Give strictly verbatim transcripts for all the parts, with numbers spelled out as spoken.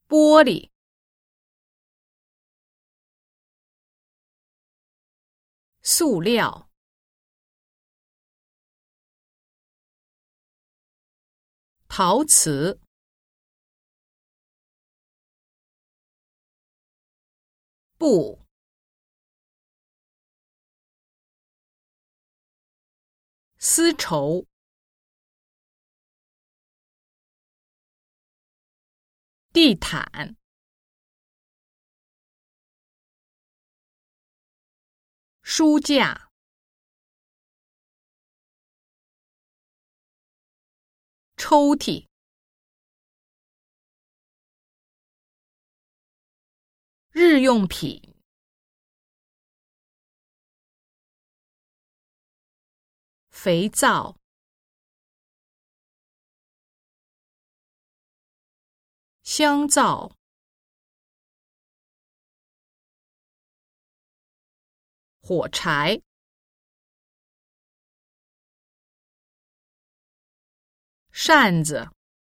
玻璃、塑料、陶瓷、布、丝绸、地毯、书架、抽屉、日用品、肥皂、香皂、火柴、扇子、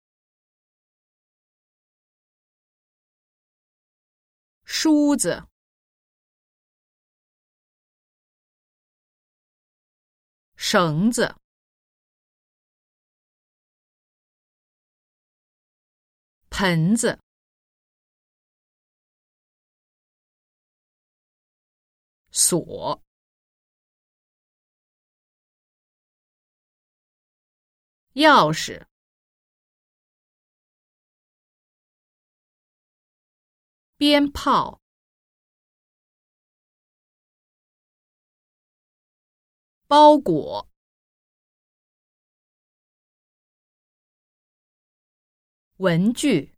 梳子、绳子、盆子、锁、钥匙、鞭炮、包裹、文具、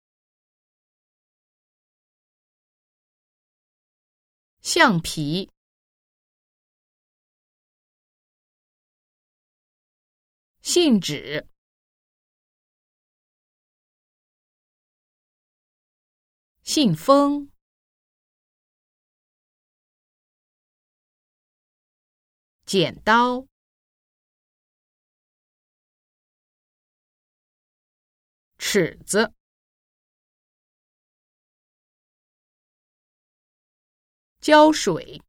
橡皮、信纸、信封、剪刀、尺子、胶水、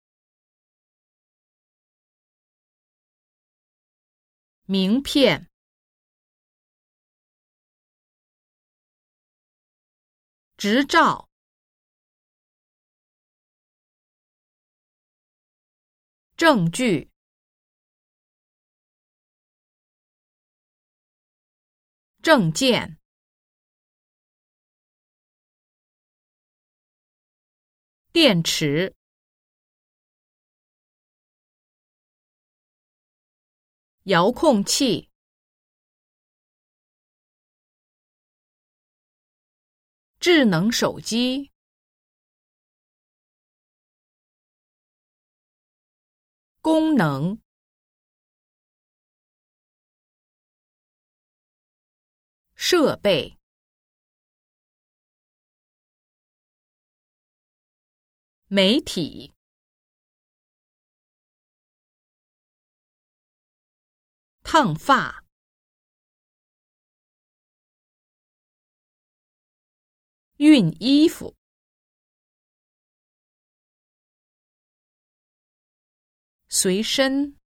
名片、执照、证据、证件、电池、遥控器、智能手机、功能、设备、媒体、烫发、熨衣服、随身。